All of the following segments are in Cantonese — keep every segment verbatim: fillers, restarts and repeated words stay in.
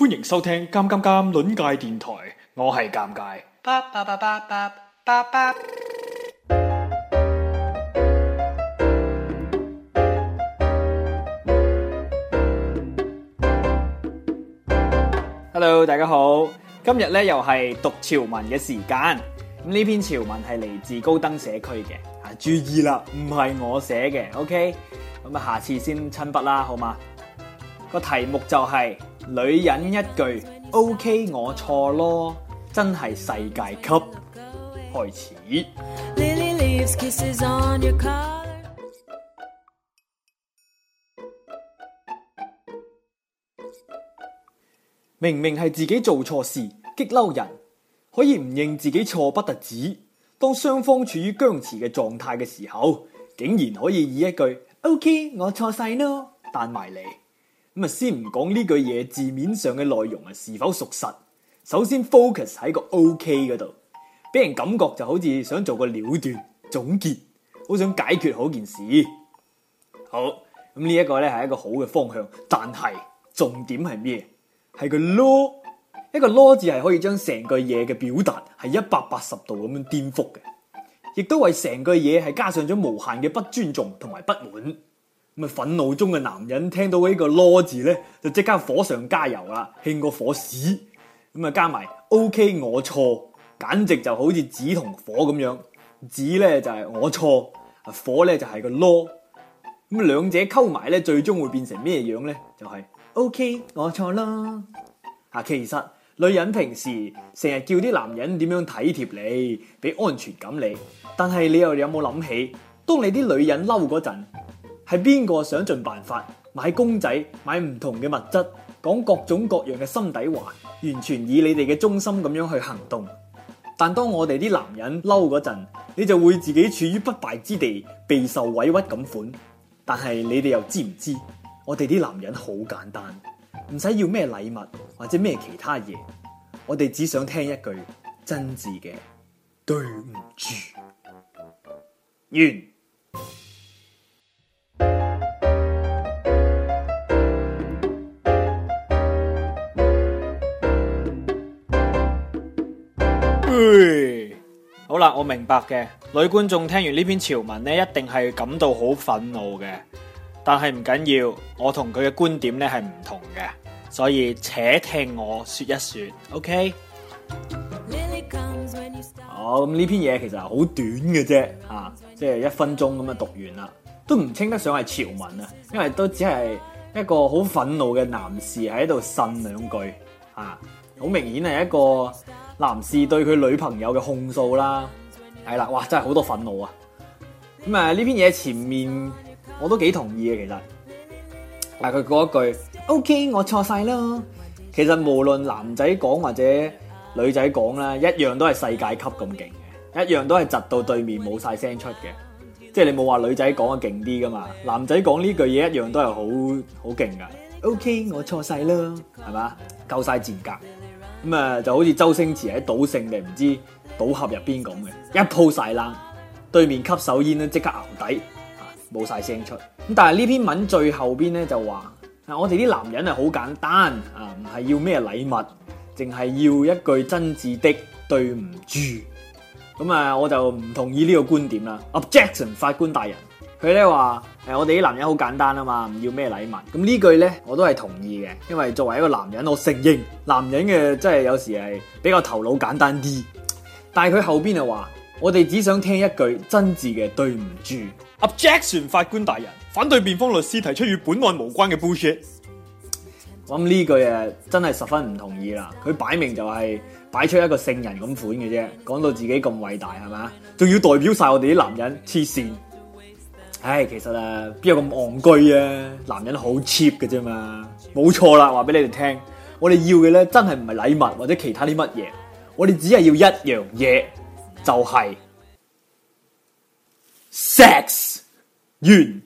歡迎收聽《尷尷尷》論界電台，我係尷尬。Hello， 大家好，今日咧又係讀潮文嘅時間。咁呢篇潮文係嚟自高登社區嘅，啊注意啦，唔係我寫嘅 ，OK？ 咁啊，下次先親筆啦，好嗎？個題目就係、是、女人一句 OK 我錯咯，真係世界級。開始。明明係自己做錯事，激嬲人，可以唔認自己錯不特止。當雙方處於僵持嘅狀態嘅時候，竟然可以以一句 OK 我錯晒咯彈埋嚟。咁啊，先唔講呢句嘢字面上嘅內容啊是否屬實，首先 focus 喺個 OK 嗰度，俾人感覺就好似想做個了斷總結，好想解決好件事。好，咁呢一個咧係一個好嘅方向，但係重點係咩？係個囉，一個囉字係可以將成句嘢嘅表達係一百八十度咁樣顛覆嘅，亦都為成句嘢係加上咗無限嘅不尊重同埋不滿。咁啊，憤怒中嘅男人聽到呢個囉字咧，就即刻火上加油啦，興過火屎。咁啊，加埋 OK 我錯，簡直就好似紙同火咁樣。紙咧就係我錯，啊火咧就係個囉。咁兩者溝埋咧，最終會變成咩樣咧？就係、是。OK， 我錯啦。啊，其實女人平時成日叫啲男人點樣體貼你，俾安全感你，但係你又有冇諗起，當你啲女人嬲嗰陣，係邊個想盡辦法買公仔、買唔同嘅物質，講各種各樣嘅心底話，完全以你哋嘅中心咁樣去行動。但當我哋啲男人嬲嗰陣，你就會自己處於不敗之地，備受委屈咁款。但係你哋又知唔知？我哋啲男人好簡單，唔使要咩禮物或者咩其他嘢，我哋只想聽一句真摯嘅對唔住。完。好啦，我明白嘅，女觀眾聽完呢篇潮文咧，一定係感到好憤怒嘅。但係唔緊要，我同佢嘅觀點咧係唔同嘅，所以且聽我說一說 ，OK？ 好，咁呢篇嘢其實係好短嘅啫，啊，即係一分鐘咁樣讀完啦，都唔稱得上係潮文啊，因為都只係一個好憤怒嘅男士喺度呻兩句，啊，好明顯係一個男士對佢女朋友嘅控訴啦，係啦，哇，真係好多憤怒啊！咁啊，呢篇嘢前面。我都幾同意嘅，其實，但係佢嗰一句 OK 我錯晒咯，其實無論男仔講或者女仔講啦，一樣都係世界級咁勁嘅，一樣都係窒到對面冇晒聲出嘅，即係你冇話女仔講得勁啲噶嘛，男仔講呢句嘢一樣都係好好勁噶 OK 我錯晒咯，係嘛，夠晒賤格，咁啊就好似周星馳喺賭聖定唔知賭俠入邊咁嘅，一鋪晒冷，對面吸手煙咧即刻淆底。冇晒聲出，咁但係呢篇文最後邊咧就話，啊我哋啲男人係好簡單啊，唔係要咩禮物，淨係要一句真摯的對唔住。咁啊，我就唔同意呢個觀點啦。Objection， 法官大人，佢咧話，誒我哋啲男人好簡單啊嘛，唔要咩禮物。咁呢句咧我都係同意嘅，因為作為一個男人，我承認男人嘅真係有時係比較頭腦簡單啲。但係佢後邊就話，我哋只想聽一句真摯嘅對唔住。Objection， 法官大人，反對辯方律師提出與本案無關嘅 bullshit。我諗呢句誒真係十分唔同意啦，佢擺明就係擺出一個聖人咁款嘅啫，講到自己咁偉大係嘛，仲要代表晒我哋啲男人黐線。唉，其實啊，邊有咁戇居啊？男人好 cheap 嘅啫嘛，冇錯啦，話俾你哋聽，我哋要嘅咧真係唔係禮物或者其他啲乜嘢，我哋只係要一樣嘢，就係、是、sex。完。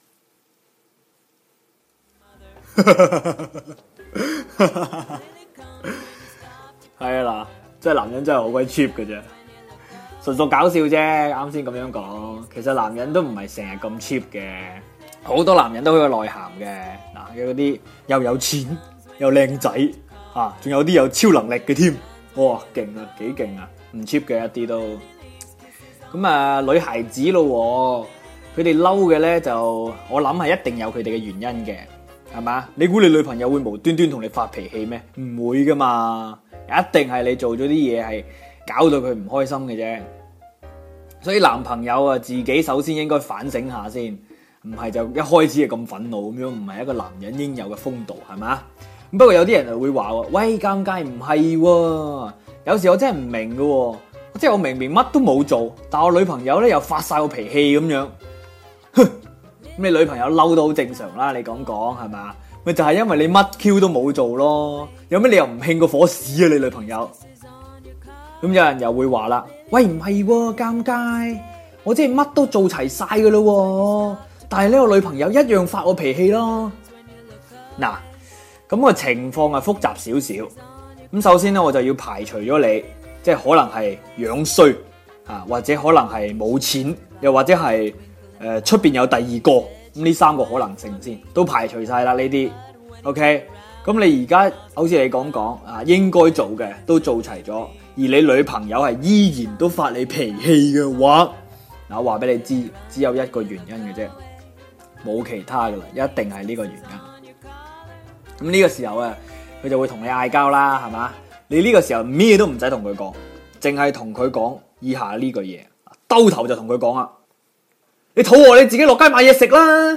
係啊嗱，即係男人真係好鬼 cheap 嘅啫，純屬搞笑啫。啱先咁樣講，其實男人都唔係成日咁 cheap 嘅，好多男人都好有內涵嘅。嗱，有嗰啲又有錢又靚仔啊，仲有啲有超能力嘅添，哇，勁啊，幾勁啊，唔 cheap 嘅一啲都。咁啊，女孩子咯，佢哋嬲嘅咧就，我諗係一定有佢哋嘅原因嘅，係嘛？你估你女朋友會無端端同你發脾氣咩？唔會噶嘛，一定係你做咗啲嘢係搞到佢唔開心嘅啫。所以男朋友啊，自己首先應該反省下先，唔係就一開始就咁憤怒咁樣，唔係一個男人應有嘅風度，係嘛？不過有啲人就會話喎，喂，尷尬唔係喎，有時我真係唔明嘅喎，即係我明明乜都冇做，但我女朋友咧又發晒個脾氣咁樣，哼，咁你女朋友嬲都好正常啦，你講講係嘛？咪就係因為你乜 Q 都冇做咯，有咩理由唔興個火屎啊你女朋友？咁有人又會話啦，喂，唔係喎，尷尬，我真係乜都做齊晒嘅咯，但係呢個女朋友一樣發我脾氣咯。嗱，咁個情況係複雜少少。咁首先咧，我就要排除咗你，即係可能係樣衰啊，或者可能係冇錢，又或者係誒出邊有第二個，咁呢三個可能性先都排除晒啦呢啲。OK，咁你而家好似你講講啊，應該做嘅都做齊咗。而你女朋友係依然都發你脾氣嘅話，嗱，我話俾你知，只有一個原因嘅啫，冇其他噶啦，一定係呢個原因。咁呢個時候啊，佢就會同你嗌交啦，係嘛？你呢個時候咩都唔使同佢講，淨係同佢講以下呢句嘢，兜頭就同佢講啦，你肚餓你自己落街買嘢食啦。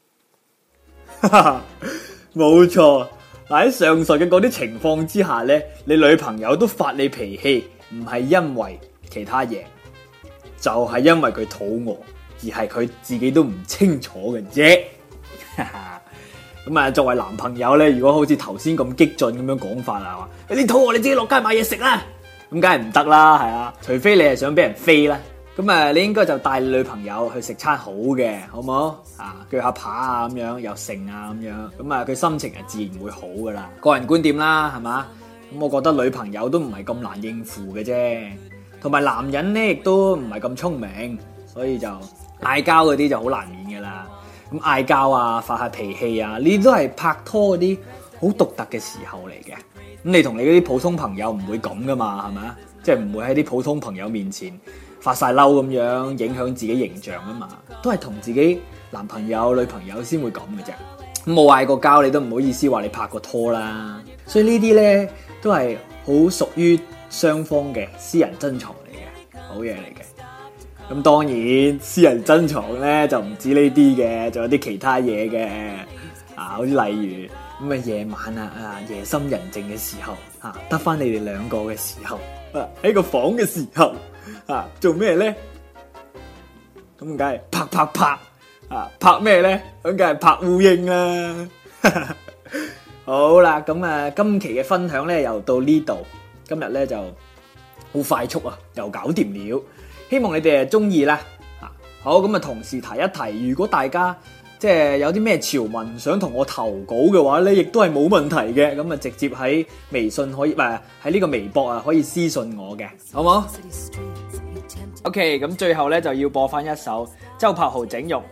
冇錯。喺上述嘅嗰啲情況之下咧，你女朋友都發你脾氣，唔係因為其他嘢，就係因為佢肚餓，而係佢自己都唔清楚嘅啫。咁啊，作為男朋友咧，如果好似頭先咁激進咁樣講法啊，話你肚餓你自己落街買嘢食啦，咁梗係唔得啦，係啊，除非你係想俾人飛啦。咁啊，你應該就帶你女朋友去食餐好嘅，好唔好？啊，鋸下扒啊咁樣，又剩啊咁樣，咁啊佢心情係自然會好噶啦。個人觀點啦，係嘛？咁我覺得女朋友都唔係咁難應付嘅啫，同埋男人咧亦都唔係咁聰明，所以就嗌交嗰啲就好難免噶啦。咁嗌交啊，發下脾氣啊，呢啲都係拍拖嗰啲好獨特嘅時候嚟嘅。咁你同你嗰啲普通朋友唔會咁噶嘛，係咪？即係唔會喺啲普通朋友面前發晒嬲咁樣影響自己形象啊嘛，都係同自己男朋友女朋友先會咁嘅啫。咁冇嗌過交，你都唔好意思話你拍過拖啦。所以呢啲咧都係好屬於雙方嘅私人珍藏嚟嘅，好嘢嚟嘅。咁當然私人珍藏咧就唔止呢啲嘅，仲有啲其他嘢嘅啊，好似例如咁啊夜晚啊啊夜深人靜嘅時候啊，得翻你哋兩個嘅時候啊，喺個房嘅時候。啊，做咩咧？咁梗係拍拍拍啊！拍咩咧？咁梗係拍烏蠅啦！好啦，咁啊，今期嘅分享咧又到呢度，今日咧就好快速啊，又搞掂了。希望你哋誒中意啦。啊，好，咁啊，同時提一提，如果大家即係有啲咩潮文想同我投稿嘅話咧，亦都係冇問題嘅。咁啊，直接喺微信可以，唔係喺呢個微博啊，可以私信我嘅，好冇？OK，咁最後咧就要播翻一首周柏豪整容。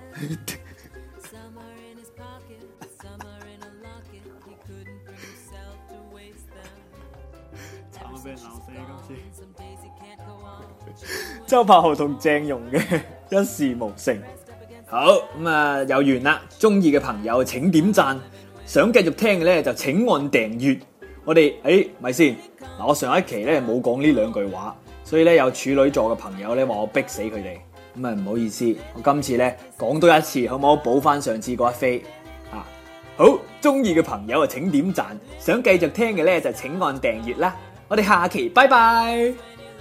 慘啊！俾人鬧死今次。周柏豪同鄭融嘅一事無成。好，咁啊，有緣啦！中意嘅朋友請點讚，想繼續聽嘅咧就請按訂閱。我哋誒咪先嗱，我上一期咧冇講呢兩句話。所以咧有處女座嘅朋友咧話我逼死佢哋，咁啊唔好意思，我今次咧講多一次，好唔好補翻上次嗰一飛啊？好，中意嘅朋友啊請點讚，想繼續聽嘅咧就請按訂閱啦。我哋下期拜拜。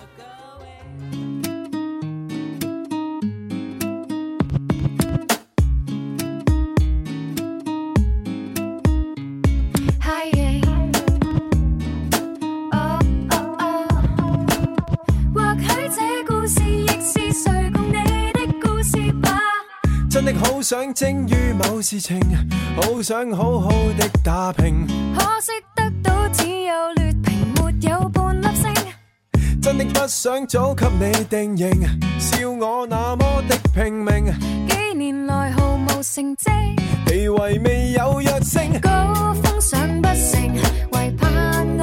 真的好想精於某事情，好想好好的打拼， 可惜得到只有劣評，沒有半粒星。 真的不想早給你定型，笑我那麼的拼命， 幾年來毫無成績， 地位未有躍升， 高峰上不成，為盼。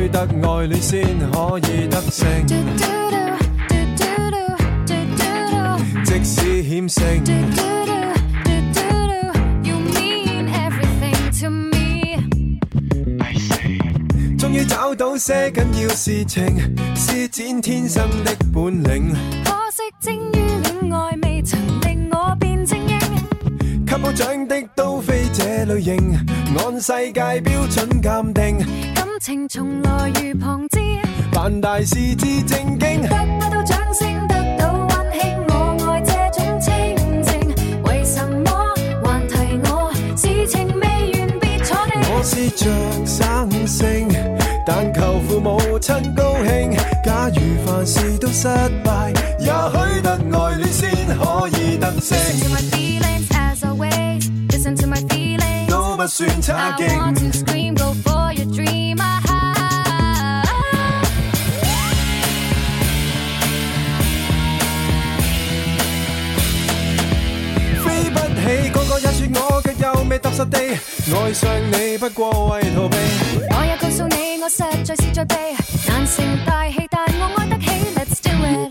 去得愛戀先可以得勝。即使險勝，終於找到些緊要事情，施展天生的本領。 可惜精於戀愛，未曾令我變精英。 給我獎的都非這類型，按世界標準鑑定， 感情從來如旁支， 辦大事至正經。 得不到掌聲，得到溫馨，我愛這種清靜。為什麼還提我？事情未完別坐定。 我是着生性，但求父母親高興。假如凡事都失敗，也許得愛戀先可以得勝。 Listen to my feelings as always. Listen to my feelings. 都不算差 I want 勁。 to scream, go for your dream. Ah, ah, ah. 飛不起，個個也說我卻又未踏實地愛上你，不過為逃避。 我也告訴你，我實在是在避，難成大器，但我愛得起。Let's do it。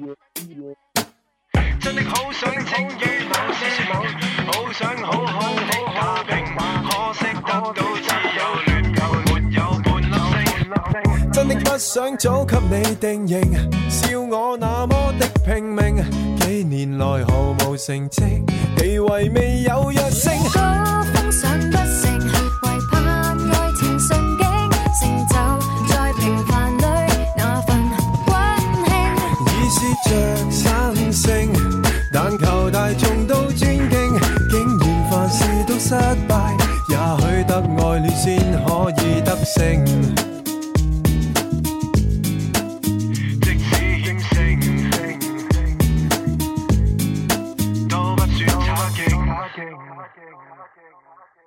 真的好想請與某些某，好想好好的打拼，可惜得到只有亂球，沒有半粒星。真的不想早給你定型，笑我那麼的拼命，幾年來毫無成績，地位未有躍升。 高峰上不成，為盼愛情順境，成就在平凡裏那份溫馨。 已是着生性，但求大眾都尊敬，竟然凡事都失敗，也許得愛戀先可以得勝。即使險勝，都不算差勁。